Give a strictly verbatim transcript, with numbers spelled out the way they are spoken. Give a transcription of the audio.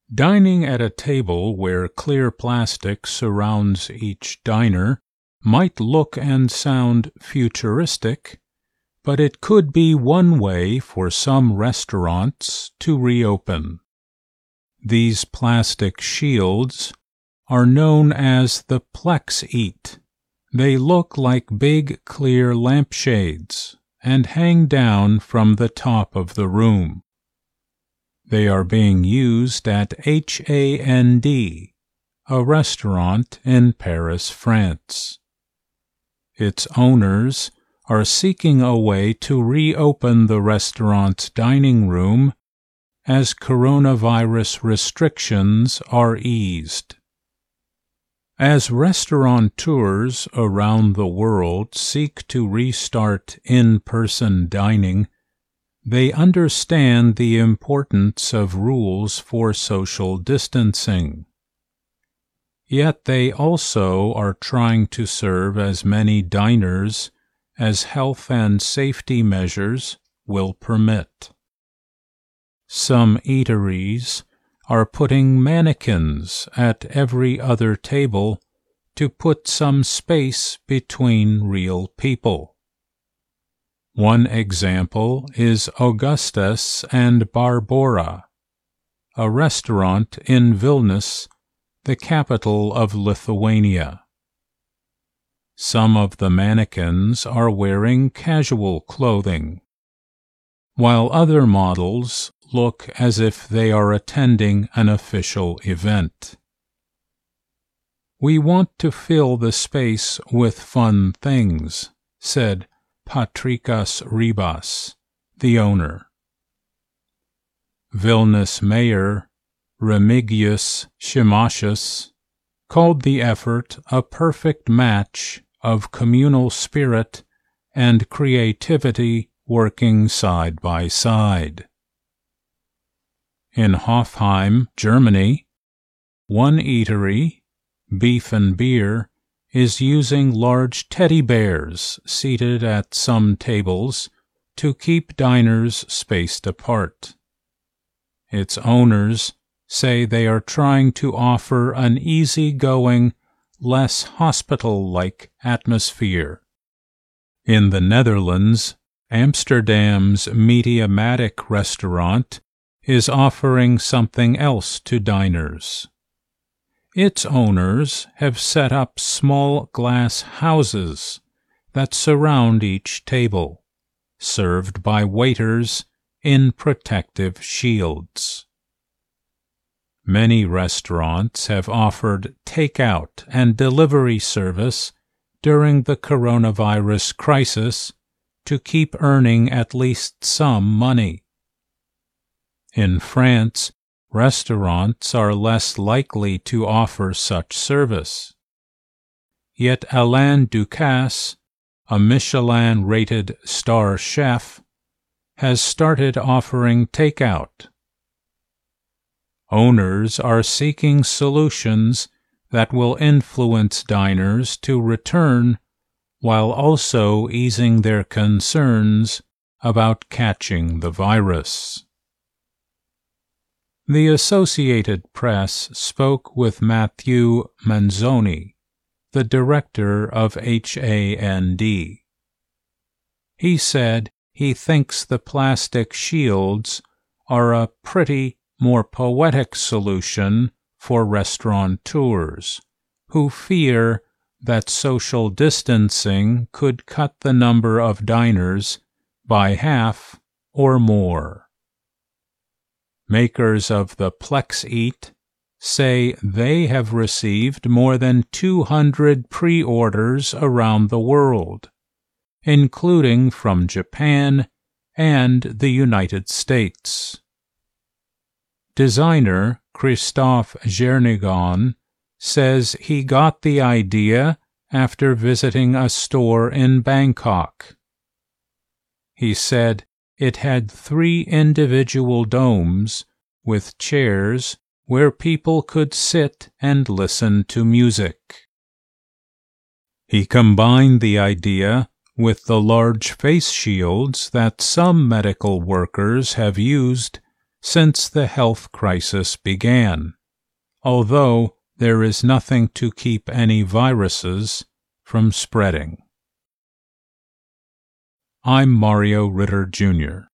Dining at a table where clear plastic surrounds each diner might look and sound futuristic, but it could be one way for some restaurants to reopen. These plastic shields are known as the Plex-Eat. They look like big clear lampshades and hang down from the top of the room. They are being used at H A N D, a restaurant in Paris, France. Its owners are seeking a way to reopen the restaurant's dining room as coronavirus restrictions are eased. As restaurateurs around the world seek to restart in-person dining, they understand the importance of rules for social distancing. Yet they also are trying to serve as many diners as health and safety measures will permit. Some eateries are putting mannequins at every other table to put some space between real people. One example is Augustus and Barbora, a restaurant in Vilnius, the capital of Lithuania. Some of the mannequins are wearing casual clothing, while other models look as if they are attending an official event. "We want to fill the space with fun things," said Patrikas Ribas, the owner. Vilnius Mayor Remigius Šimašius called the effort a perfect match of communal spirit and creativity working side by side. In Hofheim, Germany, one eatery, Beef and Beer, is using large teddy bears seated at some tables to keep diners spaced apart. Its owners say they are trying to offer an easygoing, less hospital-like atmosphere. In the Netherlands, Amsterdam's Mediamatic restaurant is offering something else to diners. Its owners have set up small glass houses that surround each table, served by waiters in protective shields. Many restaurants have offered takeout and delivery service during the coronavirus crisis to keep earning at least some money. In France, restaurants are less likely to offer such service. Yet Alain Ducasse, a Michelin-rated star chef, has started offering takeout. Owners are seeking solutions that will influence diners to return while also easing their concerns about catching the virus. The Associated Press spoke with Matthew Manzoni, the director of H A N D. He said he thinks the plastic shields are a pretty, more poetic solution for restaurateurs who fear that social distancing could cut the number of diners by half or more. Makers of the Plex-Eat say they have received more than two hundred pre-orders around the world, including from Japan and the United States. Designer Christophe Jernegan says he got the idea after visiting a store in Bangkok. He said it had three individual domes with chairs where people could sit and listen to music. He combined the idea with the large face shields that some medical workers have used since the health crisis began, although there is nothing to keep any viruses from spreading. I'm Mario Ritter, Junior